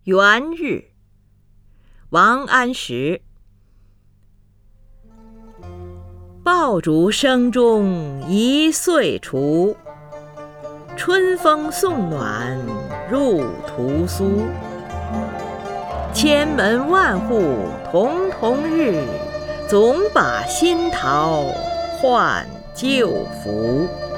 元日，王安石。爆竹声中一岁除，春风送暖入屠苏。千门万户曈曈日，总把新桃换旧符。